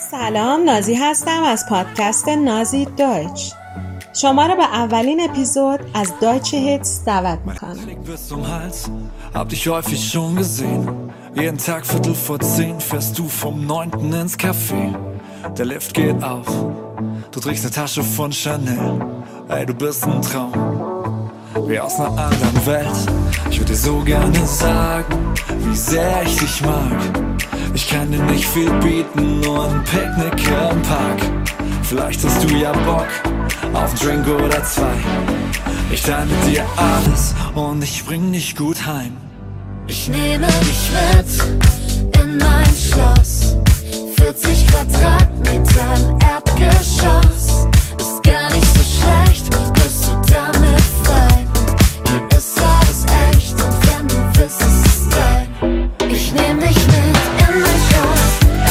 سلام، نازی هستم از پادکست نازی دویچ. شما را به اولین اپیزود از Deutsche Hits دعوت میکنم. Hab dich häufig schon gesehen. Jeden Tag 9:15 fährst du vom 9. ins Café. Der Lift geht auf, du trägst eine Tasche von Chanel. Ey, du bist ein Traum, wie aus einer anderen Welt. Ich würde dir so gerne sagen, wie sehr ich dich mag. Ich kann dir nicht viel bieten, nur ein Picknick im Park. Vielleicht hast du ja Bock auf einen Drink oder zwei. Ich teile mit dir alles und ich bring dich gut heim. Ich nehme dich mit in mein Schloss. 40 Quadratmeter im Erdgeschoss. Ist gar nicht so schlecht, bist du damit fein. Hier ist alles echt und wenn du willst, ist es dein. Ich nehm dich mit in mein Schloss.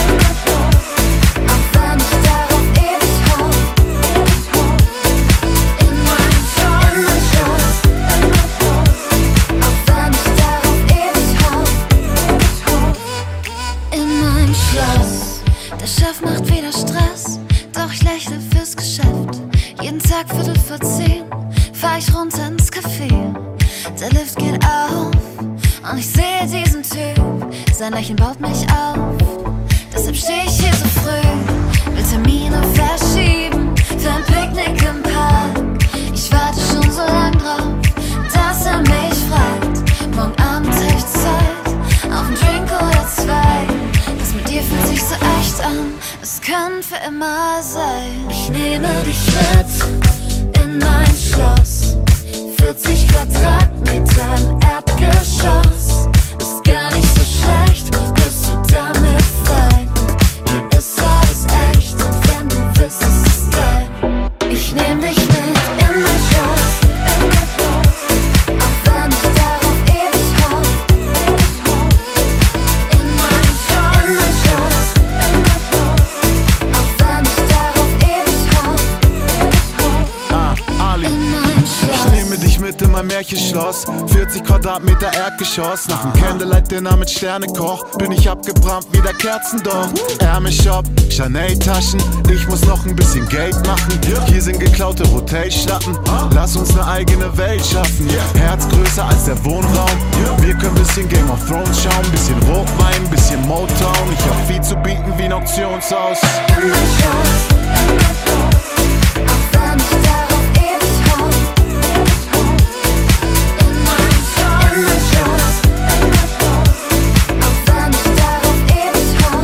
Auch wenn ich darauf ewig hau. In mein Schloss. Auch wenn ich darauf ewig hau. In mein Schloss. Der Chef macht wieder Stress, doch ich lächle fürs Geschäft. Jeden Tag 9:45 fahr ich runter ins Café. Der Lift geht auf und ich sehe diesen Typ. Sein Lächeln baut mich auf, deshalb steh ich hier so früh. Will Termine verschieben für ein Picknick im Park. Ich warte schon so lang drauf, dass er mich fragt. Morgen Abend hab ich Zeit, auf einen Drink oder zwei. Das mit dir fühlt sich so echt an, es kann für immer sein. Ich nehme dich mit in mein Schloss. 40 Quadratmeter im Erdgeschoss. Ist gar nicht so schlecht, bist du damit fein. Hier ist alles echt und wenn du willst, ist es dein. Ich nehm dich mit in mein Schloss. Auch wenn ich darauf ewig hau. In mein Schloss. Auch wenn ich darauf ewig hau. Ali. In mein Schloss. Ich nehme dich mit in mein Märchenschloss. 40 Quadratmeter Erdgeschoss. Nach dem Candlelight-Dinner mit Sternekoch bin ich abgebrannt wie der Kerzendorf. Ärmelshop, Chanel-Taschen. Ich muss noch ein bisschen Geld machen. Hier sind geklaute Hotelschlappen. Lass uns eine eigene Welt schaffen. Herz größer als der Wohnraum. Wir können bisschen Game of Thrones schauen. Bisschen Rotwein, bisschen Motown. Ich hab viel zu bieten wie ein Auktionshaus. In mein Schloss. Auch wenn ich darauf ewig hau. In mein Schloss. Auch wenn ich darauf ewig hau.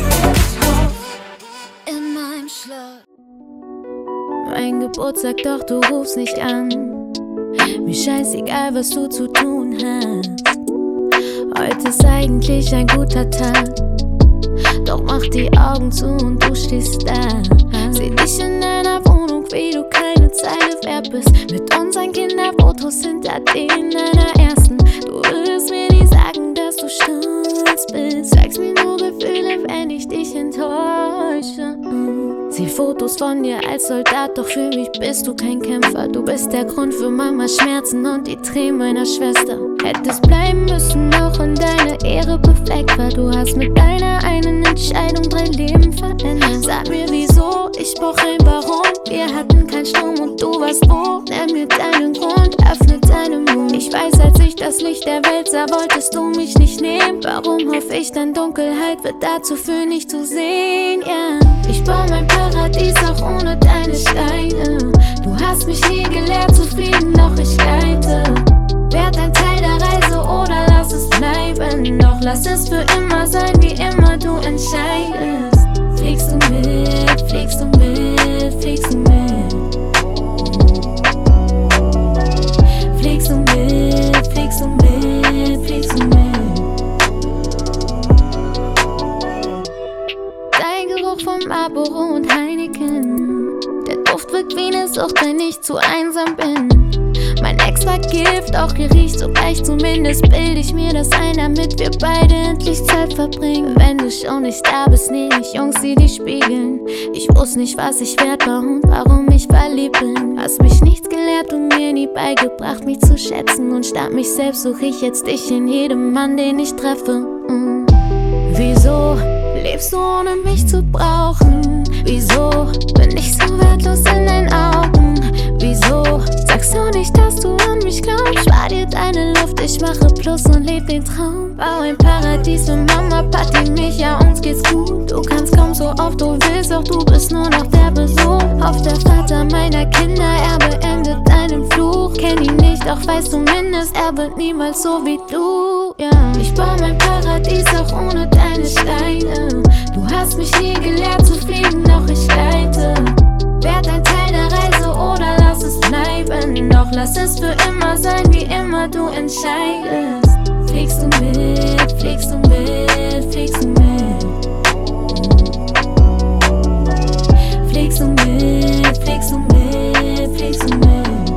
In meinem Schloss. Mein Geburtstag, doch du rufst nicht an. Mir scheißegal, was du zu tun hast. Heute ist eigentlich ein guter Tag. Doch mach die Augen zu und du stehst da. Seh dich in deiner Wohnung, wie du keine Zeile wert bist. Mit unseren Kinderfotos hinter denen deiner ersten. Du würdest mir nie sagen, dass du stolz bist. Zeigst mir nur Gefühle, wenn ich dich enttäusche. Sieh Fotos von dir als Soldat, doch für mich bist du kein Kämpfer. Du bist der Grund für Mamas Schmerzen und die Tränen meiner Schwester. Hättest bleiben müssen, auch in deiner Ehre befleckt war. Du hast mit deiner einen Entscheidung 3 Leben verändert. Sag mir wieso, ich brauch ein Warum. Wir hatten keinen Strom und du warst wo. Nenn mir deinen Grund, öffne deinen Mund. Ich weiß, als ich das Licht der Welt sah, wolltest du mich nicht nehmen. Warum hoffe ich dann, Dunkelheit wird dazu führen, nicht zu sehen, yeah. Ich baue mein Paradies auch ohne deine Steine. Du hast mich nie gelehrt, zufrieden, doch ich leite. Werd ein Teil der Reise oder lass es bleiben. Doch lass es für immer sein, wie immer du entscheidest. Fliegst du mit, fliegst du mit, fliegst du mit. Fliegst du mit, fliegst du mit, fliegst du mit. Dein Geruch von Marlboro und Heineken. Der Duft wirkt wie eine Sucht, wenn ich zu einsam bin. Mein Ex war Gift, auch ihr riecht so leicht. Zumindest bild ich mir das ein, damit wir beide endlich Zeit verbringen. Wenn du schon nicht da bist, nehm ich Jungs, die dich spiegeln. Ich wusste nicht, was ich wert war und warum ich verliebt bin. Hast mich nichts gelehrt und mir nie beigebracht, mich zu schätzen. Und statt mich selbst suche ich jetzt dich in jedem Mann, den ich treffe. Wieso lebst du ohne mich zu brauchen? Wieso bin ich so wertlos in deinen Augen? Wieso sagst du nicht, dass du an mich glaubst? Spar dir deine Luft, ich mache Plus und leb den Traum. Bau ein Paradies für Mama, Papi, mich, ja uns geht's gut. Du kannst kaum so oft du willst, doch du bist nur noch der Besuch. Auf der Vater meiner Kinder, er beendet deinen Fluch. Kenn ihn nicht, doch weiß zumindest, er wird niemals so wie du, ja. Ich bau mein Paradies auch ohne deine Steine. Du hast mich nie gelehrt zu fliegen, doch ich leite. Werd ein Teil der Reise oder lass es bleiben. Doch lass es für immer sein, wie immer du entscheidest. Fliegst du mit, fliegst du mit, fliegst du mit. Fliegst du mit, fliegst du mit, fliegst du mit.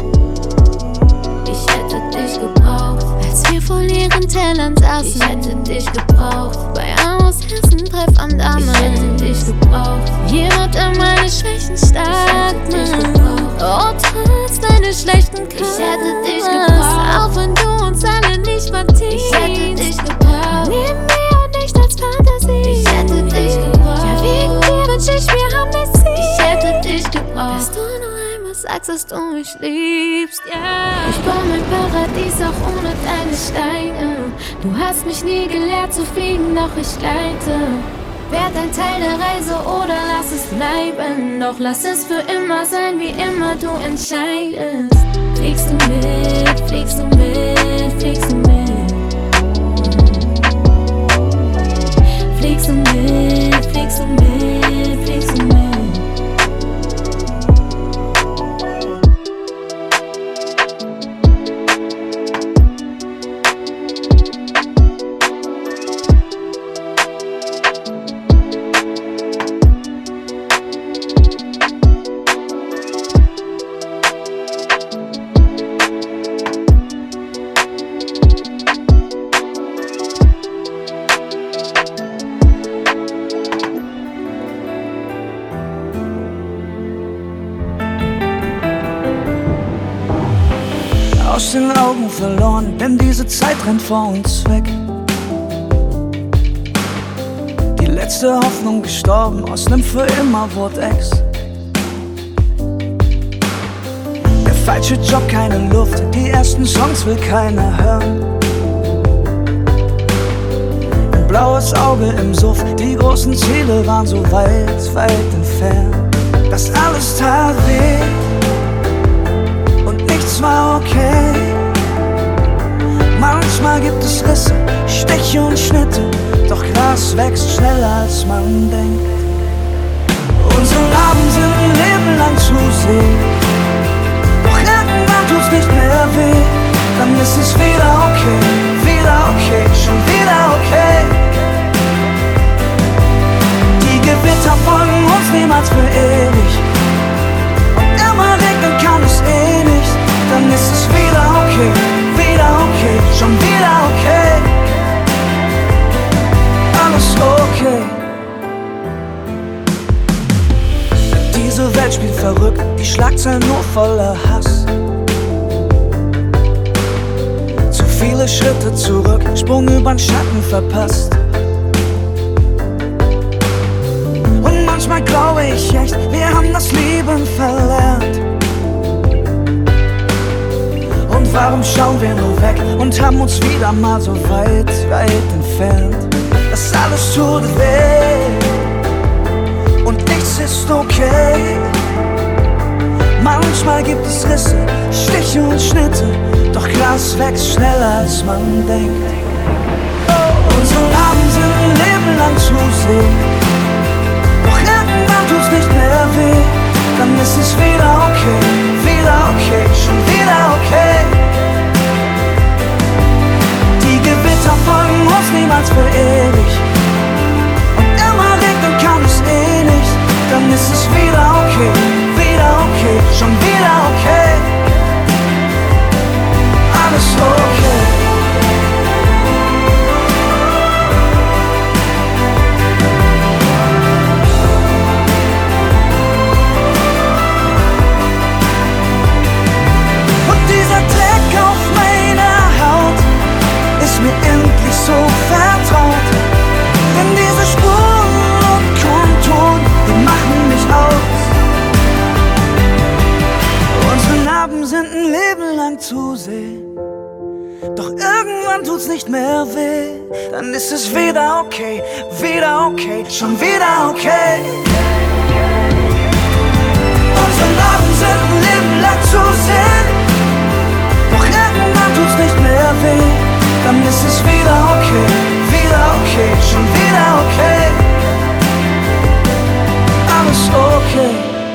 Ich hätte dich gebraucht, als wir vor leeren Tellern saßen. Ich hätte dich gebraucht, bei Amos Hessen-Treff am Damen. Ich hätte dich gebraucht, jemand, der meine Schwächen stark macht. Oh, trotz deiner schlechten Kunst. Ich hätte dich gebraucht, auch wenn du uns alle nicht verdienst. Ich hätte dich gebraucht, neben mir nicht als Fantasie. Ich hätte dich gebraucht, ja wegen dir wünsch ich mir Amnesie. Ich hätte dich gebraucht, dass du noch einmal sagst, dass du mich liebst, ja. Yeah. Ich baue mein Paradies auch ohne deine Steine. Du hast mich nie gelehrt zu fliegen, doch ich leite. Werd ein Teil der Reise oder lass es bleiben. Doch lass es für immer sein, wie immer du entscheidest. Fliegst du mit, fliegst du mit, fliegst du mit. Fliegst du mit, fliegst du mit, fliegst du mit. Aus den Augen verloren, denn diese Zeit rennt vor uns weg. Die letzte Hoffnung gestorben, aus nem für immer wurde Ex. Der falsche Job, keine Luft, die ersten Songs will keiner hören. Ein blaues Auge im Suff, die großen Ziele waren so weit, weit entfernt. Das alles tat weh. Nichts war okay. Manchmal gibt es Risse, Stiche und Schnitte, doch Gras wächst schneller als man denkt. Unsere Abend sind ein Leben lang zu sehen, doch irgendwann tut's nicht mehr weh. Dann ist es wieder okay, schon wieder okay. Die Gewitter folgen uns niemals für ewig, und immer regnen kann es eh nicht. Dann ist es wieder okay, schon wieder okay. Alles okay. Diese Welt spielt verrückt, die Schlagzeilen nur voller Hass. Zu viele Schritte zurück, Sprung übern Schatten verpasst. Und manchmal glaube ich echt, wir haben das Lieben verlernt. Und warum schauen wir nur weg und haben uns wieder mal so weit, weit entfernt? Das alles tut weh und nichts ist okay. Manchmal gibt es Risse, Stiche und Schnitte, doch Gras wächst schneller als man denkt. Unsere Abend sind ein Leben lang zu sehen, doch irgendwann tut's nicht mehr weh. Dann ist es wieder okay, schon wieder okay. Die Gewitter folgen uns niemals für ewig, und immer regnen kann es eh nicht. Dann ist es wieder okay, schon wieder okay. Alles okay. irgendwann tut's nicht mehr weh. Dann ist es wieder okay, schon wieder okay. Unsere Narben sind ein Leben lang zu sehen. Doch irgendwann tut's nicht mehr weh. Dann ist es wieder okay, schon wieder okay. Alles okay.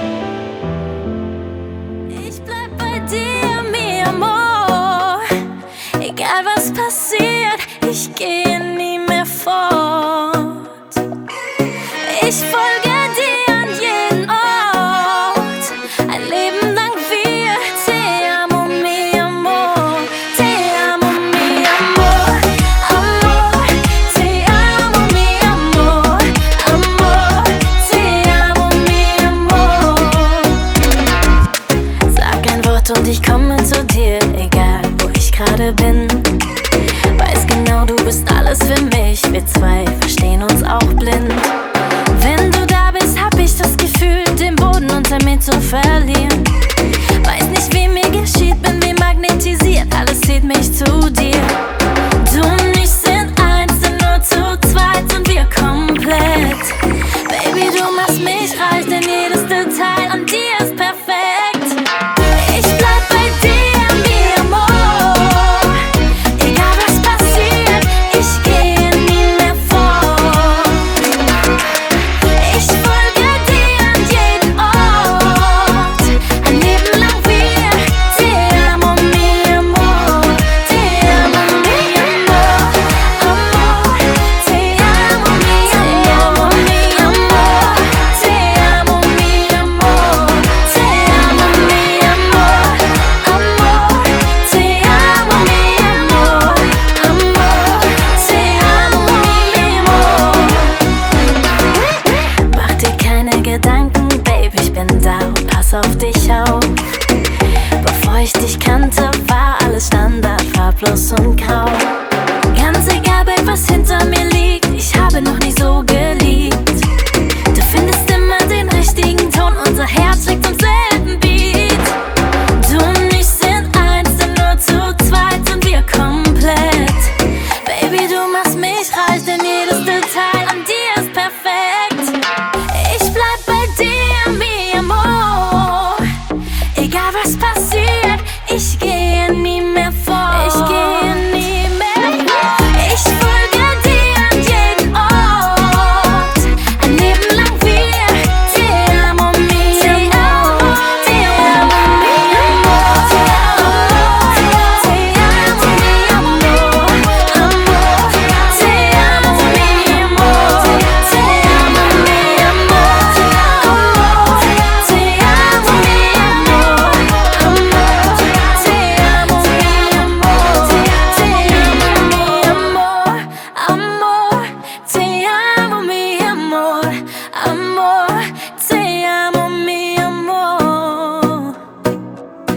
Ich bleib bei dir, mi amor. Egal was passiert, ich gehe nie mehr fort. Ich folge dir an jeden Ort. Ein Leben lang wir. Te amo, mi amor. Te amo, mi amor. Amor, te amo, mi amor. Amor, te amo, mi amor. Sag ein Wort und ich komme zu dir, egal wo ich gerade bin. Weiß genau, du bist alles für mich. Wir zwei verstehen uns auch blind. Wenn du da bist, hab ich das Gefühl, den Boden unter mir zu verlieren. Weiß nicht, wie mir geschieht, bin wie magnetisiert. Alles zieht mich zu dir. Du und ich sind eins, denn nur zu zweit sind wir komplett. Baby, du machst mich reich, denn jedes Detail an dir ist perfekt. Ich bleib bei dir, mi amor. Egal was passiert, ich gehe nie mehr fort. Ich folge dir an jeden Ort. Ein Leben lang wir. Te amo, mi amor. Te amo, mi amor. Amor, te amo, mi amor. Mi amor, te amo, mi amor. Te amo, mi amor. Amor, te amo, mi amor. Amor, te amo, mi amor. Mach dir keine Gedanken, Baby, ich bin da und pass auf dich auf. Bevor ich dich kannte, war alles Standard, farblos und grau. Ganz egal, Babe, was hinter mir liegt, ich habe noch nie so geliebt. Du findest immer den richtigen Ton, unser Herz schlägt zum selben Beat. Du und ich sind eins, denn nur zu zweit sind wir komplett. Baby, du machst mich reich, denn jedes Detail an dir ist perfekt. Ich bleib bei dir, mi amor. Egal was passiert, ich gehe nie mehr fort. Ich gehe nie mehr fort. Ich folge dir an jeden Ort. Ein Leben lang wir. Te amo, mi amor. Te amo, mi amor. Te amo, mi amor. Amor, te amo, mi amor. Te amo, mi amor. Amor, te amo, mi amor. Amor, te amo, mi amor. Te amo, mi amor. Amor, te amo, mi amor. Amor, te amo, mi amor.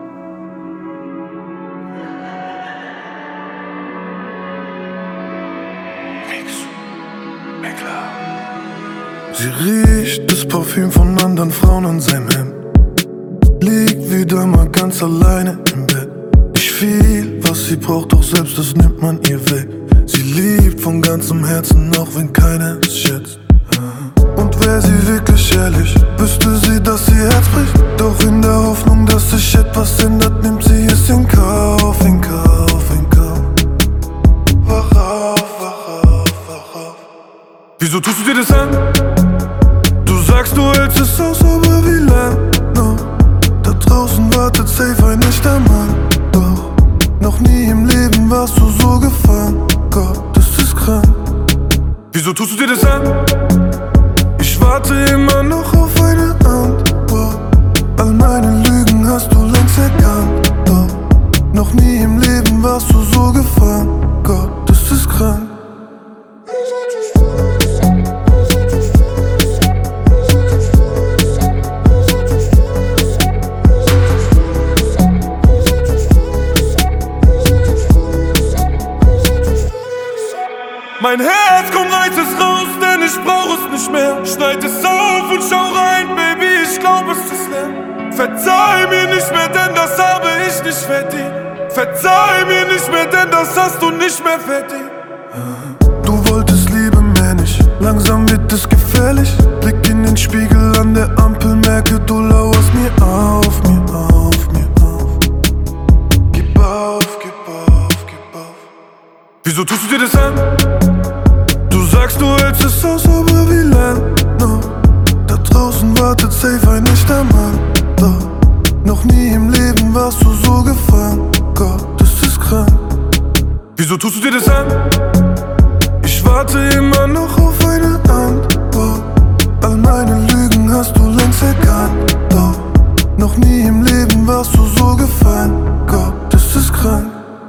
Sie riecht das Parfüm von anderen Frauen an seinem Hemd. Liegt wieder mal ganz alleine im Bett. Ich fühl, was sie braucht, doch selbst das nimmt man ihr weg. Sie liebt von ganzem Herzen, auch wenn keiner es schätzt. Und wär sie wirklich ehrlich, wüsste sie, dass ihr Herz bricht. Doch in der Hoffnung, dass sich etwas ändert, nimmt sie es in Kauf, in Kauf, in Kauf. Wach auf, wach auf, wach auf. Wieso tust du dir das an? Du sagst, du hältst es aus, aber wie lang noch? Da draußen wartet safe ein echter Mann. Doch noch nie im Leben warst du so gefangen. Gott, das ist krank. Wieso tust du dir das an? Ich warte immer noch auf eine Antwort. All meine Lügen hast du längst erkannt. Doch noch nie im Leben warst du so gefangen. Gott, das ist krank. Mein Herz, komm, reiß es raus, denn ich brauch es nicht mehr. Schneid es auf und schau rein, Baby, ich glaub, es ist leer. Verzeih mir nicht mehr, denn das habe ich nicht verdient. Verzeih mir nicht mehr, denn das hast du nicht mehr verdient. Du wolltest Liebe mehr nicht, langsam wird es gefährlich. Blick in den Spiegel an der Ampel, merke du lauerst mir auf, mir auf, mir auf. Gib auf, gib auf, gib auf. Wieso tust du dir das an? Du sagst, du hältst es aus, aber wie lang noch? Da draußen wartet safe ein echter Mann. Doch noch nie im Leben warst du so gefangen. Gott, das ist krank. Wieso tust du dir das an? Ich warte immer noch auf eine Antwort. All meine Lügen hast du längst erkannt. Doch noch nie im Leben warst du so gefangen. Gott, das ist krank.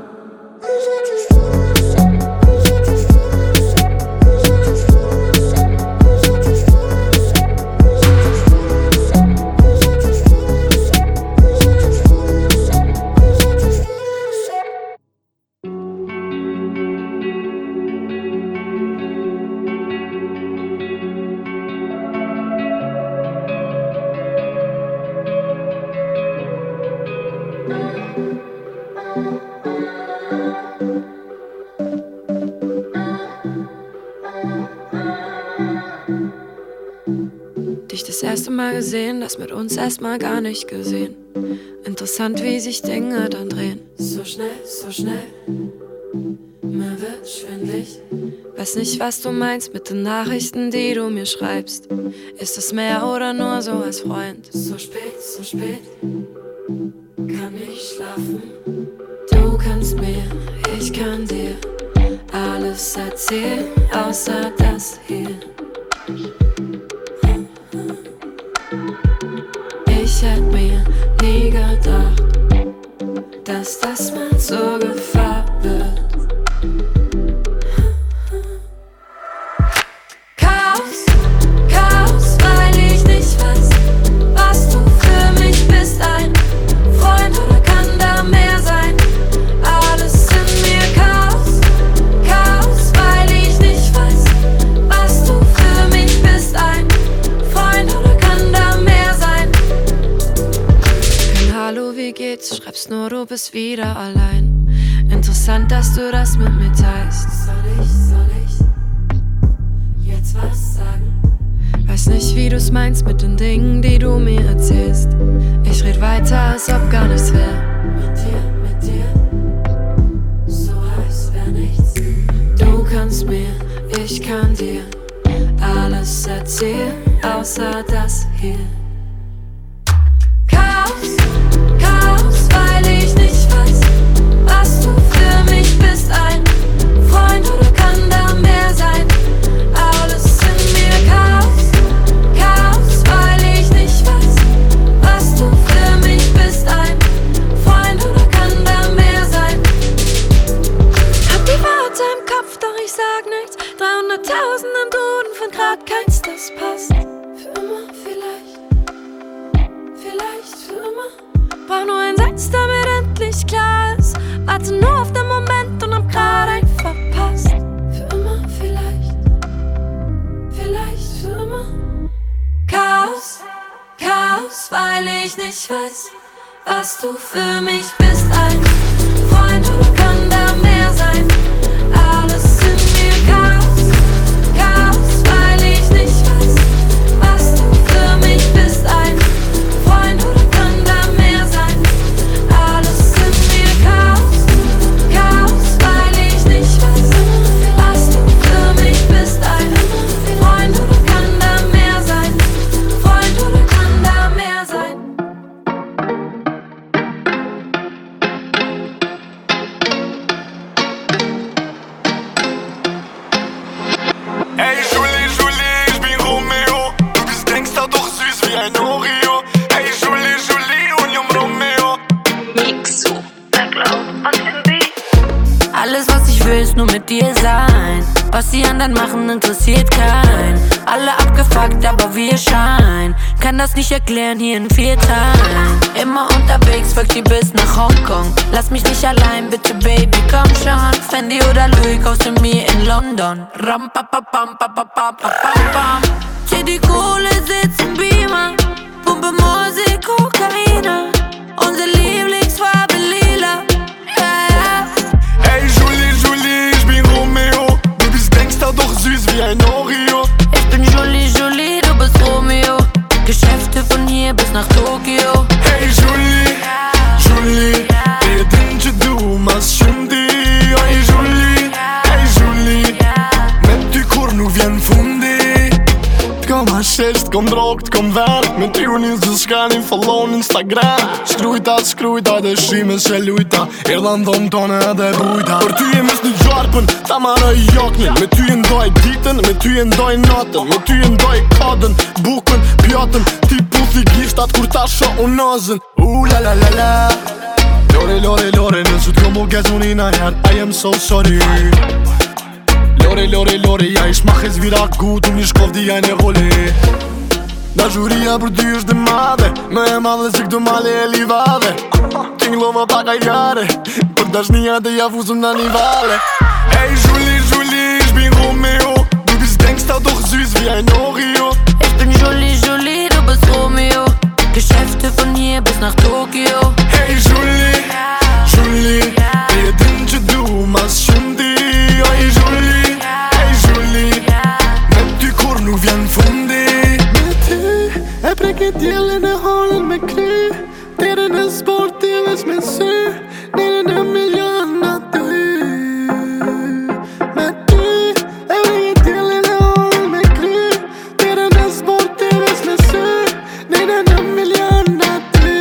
Dich das erste Mal gesehen, das mit uns erstmal gar nicht gesehen. Interessant, wie sich Dinge dann drehen. So schnell, mir wird schwindlig. Weiß nicht, was du meinst mit den Nachrichten, die du mir schreibst. Ist es mehr oder nur so als Freund? So spät, kann ich schlafen. Du kannst mir, ich kann dir alles erzählen, außer das hier. Ich hätte mir nie gedacht, dass das mal zur Gefahr wird. Chaos, weil ich nicht weiß, was du für mich bist. Ein Freund oder kann da mehr sein? Alles in mir Chaos, weil ich nicht weiß, was du für mich bist. Ein Freund oder kann da mehr sein? Kein Hallo, wie geht's? Schreibst nur, du bist wieder allein. Interessant, dass du das mit mir teilst. Soll ich jetzt was sagen? Weiß nicht, wie du's meinst mit den Dingen, die du mir erzählst. Ich red weiter, als ob gar nichts wär. Mit dir, so als wär nichts. Du kannst mir, ich kann dir alles erzählen, außer das hier. Chaos, weil ich nicht weiß, was du für mich bist. Ein Freund oder kann da mehr sein? Alles in mir Chaos, weil ich nicht weiß, was du für mich bist. Ein Freund oder kann da mehr sein? Hab die Worte im Kopf, doch ich sag nichts. 300.000 im Duden von grad keins, das passt. Für immer vielleicht für immer. Brauch nur einen Satz, damit endlich klar ist. Warte nur auf den Moment und hab grad einen verpasst. Für immer vielleicht für immer. Chaos, weil ich nicht weiß, was du für mich bist. Ein Freund oder kann da mehr sein? Alles in mir Chaos, weil ich nicht weiß, was du für mich bist. Ein Freund oder kann da mehr sein? Alles in mir Chaos, weil ich nicht weiß, was du für mich bist. Ein Freund oder kann da mehr sein? Freund oder kann da mehr sein? Hey Julie, ich bin Romeo. Du bist Gangster, doch süß wie ein Oreo. Hey Julie, Union Romeo. Mixu, Backload und Indie. Alles, was ich will, ist nur mit dir sein. Was die anderen machen, interessiert keinen. Alle abgefuckt, aber wir scheinen. Kann das nicht erklären, hier in 4 Teilen. Immer unterwegs, folgt die bis nach Hongkong. Lass mich nicht allein, bitte Baby, komm schon. Fendi oder Louis, kaufst du mir in London. Ram, pa, pa, pam, pa, pa, pa, pa, pam, pam. Zieh die Kohle, sitz im Beamer. Pumpe Musik, Kokaina. Unsere Lieblingsfarbe lila. Ja, ein Oreo. Ich bin Julie, Julie, du bist Romeo. Geschäfte von hier bis nach Tokio. Hey Julie, Julie, edince du m'ascendi. Hey Julie, met ty kur nuk vjen fundi. T'kom hashisht, t'kom drog, t'kom ven. Me ty unë zë shkani, follow në Instagram. Shkrujta, dhe shime se lujta. Erdha në dhomë tone edhe bujta. Për ty e mes një gjarpën, ta marrë i jaknin. Me ty e ndoj ditën, me ty e ndoj natën. Me ty e ndoj kadën, bukën, pjatën. Ti puthi gishtat kur ta sho unë nazën. La la la la. Lore, lore, lore, nësut kom u gezuni na her. I am so sorry. Lore, lore, lore, ja ish ma hez vira gut. Unë ish kovdi ja në roli. Dashuria për ty është dhe madhe. Me e madhe si këto male e livade. Tinglo më pak ajare. Për dashnia dhe ja fuzëm në një vale. Hey Julie, Julie, ich bin Romeo. Du bist Gangster, doch süß wie ein Oreo. Ich bin Julie, Julie, du bist Romeo. Geschäfte von hier bis nach Tokio. Hey Julie, Julie, edince du m'ascendi. Hey Julie, met ty kur nuk vjen fundi. Me ty e preket djelen e halën me kry. Tere në sportives me sy. Nire në milion në ty. Me ty e preket djelen e halën me kry. Tere në sportives me sy. Nire në milion në ty.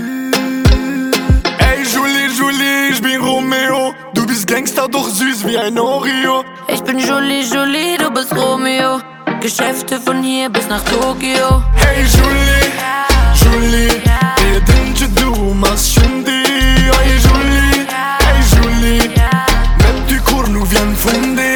Hey Julie, Julie, ich bin Romeo. Du bist Gangster, doch süß wie ein Oreo. Ich bin Julie, Julie, du bist Romeo. Geschäfte von hier bis nach Tokio. Hey Julie, Julie, edince du m'ascendi. Hey Julie, met ty kur nuk vjen fundi.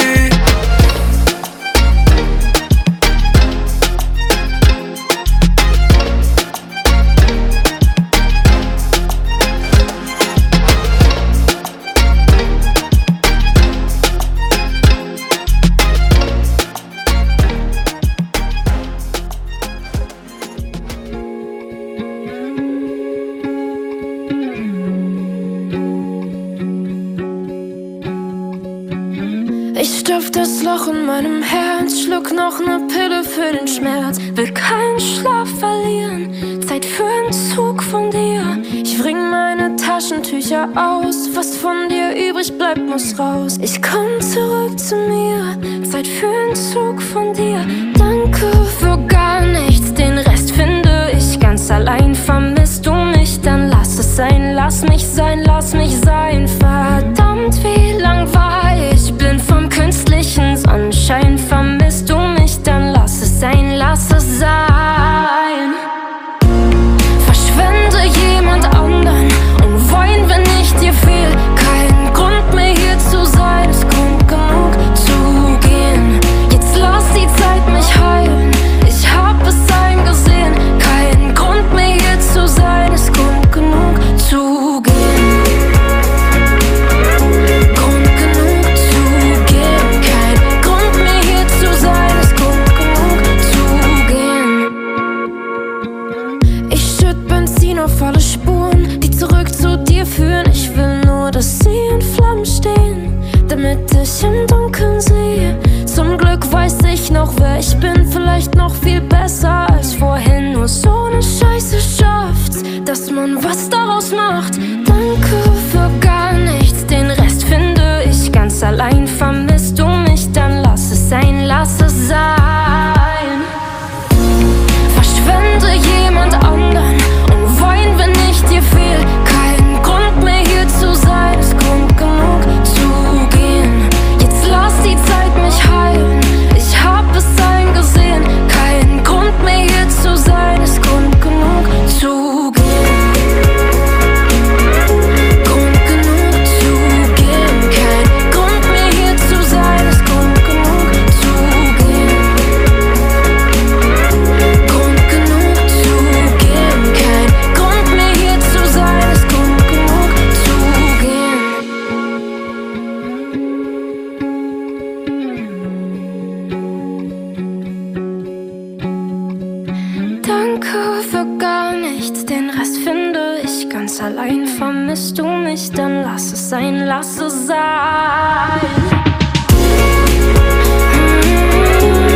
Ich stopf das Loch in meinem Herz, schluck noch ne Pille für den Schmerz. Will keinen Schlaf verlieren, Zeit für einen Zug von dir. Ich bring meine Taschentücher aus, was von dir übrig bleibt, muss raus. Ich komm zurück zu mir, Zeit für einen Zug von dir. Danke für gar nichts, den Rest finde ich ganz allein. Vermisst du mich, dann lass es sein, lass mich sein, lass mich sein. Verdammt, wie lang war ich blind vom künstlichen Sonnenschein. Vermisst du mich, dann lass es sein, lass es sein. Verschwende jemand anderen und wein, wenn ich dir fehl. Kein Grund mehr hier zu sein, es kommt genug zu gehen. Jetzt lass die Zeit mich heilen, ich hab es eingesehen. Kein Grund mehr hier zu sein, es kommt genug zu gehen. Auf alle Spuren, die zurück zu dir führen. Ich will nur, dass sie in Flammen stehen, damit ich im Dunkeln sehe. Zum Glück weiß ich noch, wer ich bin. Vielleicht noch viel besser als vorhin. Nur so eine Scheiße schafft's, dass man was daraus macht. Danke für gar nichts, den Rest finde ich ganz allein. Vermisst du mich, dann lass es sein, lass es sein. Verschwende jemand anderen und wein, wenn ich dir fehl. Kein Grund mehr hier zu sein, es kommt genug zu gehen. Jetzt lass die Zeit mich heilen, ich hab es eingesehen. Kein Grund mehr hier zu sein, es kommt genug zu gehen. Grund genug zu gehen. Kein Grund mehr hier zu sein, es kommt genug zu gehen. Grund genug zu gehen. Kein Grund mehr hier zu sein, es kommt genug zu gehen. Danke für gar nichts, den Rest finde ich ganz allein. Vermisst du mich, dann lass es sein, lass es sein.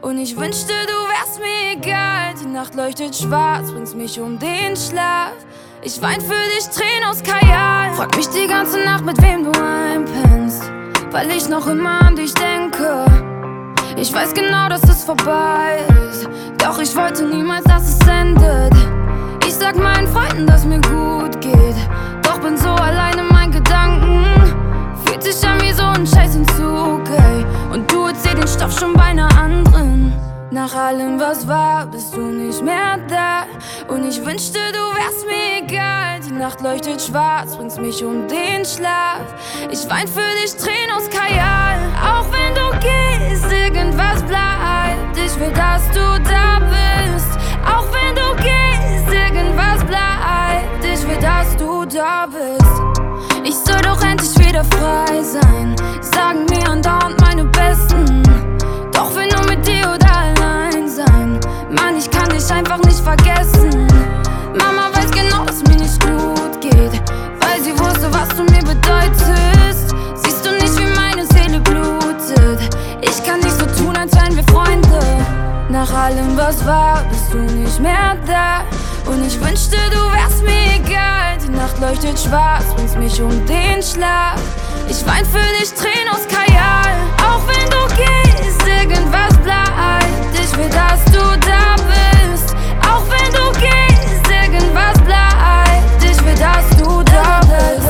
Und ich wünschte, du wärst mir egal. Die Nacht leuchtet schwarz, bringst mich um den Schlaf. Ich wein für dich, Tränen aus Kajal. Frag mich die ganze Nacht, mit wem du einpennst, weil ich noch immer an dich denke. Ich weiß genau, dass es vorbei ist, doch ich wollte niemals, dass es endet. Ich sag meinen Freunden, dass mir gut geht, doch bin so allein in meinen Gedanken. Fühlt sich an wie so ein Scheißentzug, ey. Und du erzählst den Stoff schon bei einer anderen. Nach allem, was war, bist du nicht mehr da. Und ich wünschte, du wärst mir egal. Die Nacht leuchtet schwarz, bringst mich um den Schlaf. Ich wein für dich, Tränen aus Kajal. Auch wenn du gehst, irgendwas bleibt. Ich will, dass du da bist. Auch wenn du gehst, irgendwas bleibt. Ich will, dass du da bist. Ich soll doch endlich wieder frei sein, sagen mir andauernd meine Besten. Doch will nur mit dir oder allein sein. Mann, ich kann dich einfach nicht vergessen. Mama weiß genau, dass mir nicht gut geht, weil sie wusste, was du mir bedeutest. Siehst du nicht, wie meine Seele blutet? Ich kann nicht so tun, als wären wir Freunde. Nach allem, was war, bist du nicht mehr da. Und ich wünschte, du wärst mir egal. Die Nacht leuchtet schwarz, bringst mich um den Schlaf. Ich wein für dich, Tränen aus Kajal. Auch wenn du gehst, irgendwas bleibt. Ich will, dass du da bist. Auch wenn du gehst, irgendwas bleibt. Ich will, dass du da bist.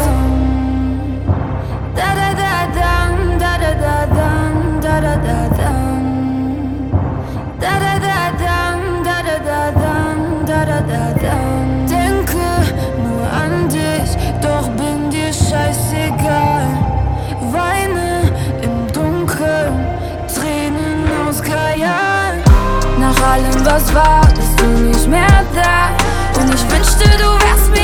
Da da da dam, da da da dam, da da da dam. Da da da dam, da da da dam, da da da dam. Denke nur an dich, doch bin dir scheißegal. Weine im Dunkeln, Tränen aus Kajal. Nach allem, was war, bist du nicht mehr da. Und ich wünschte, du wärst mir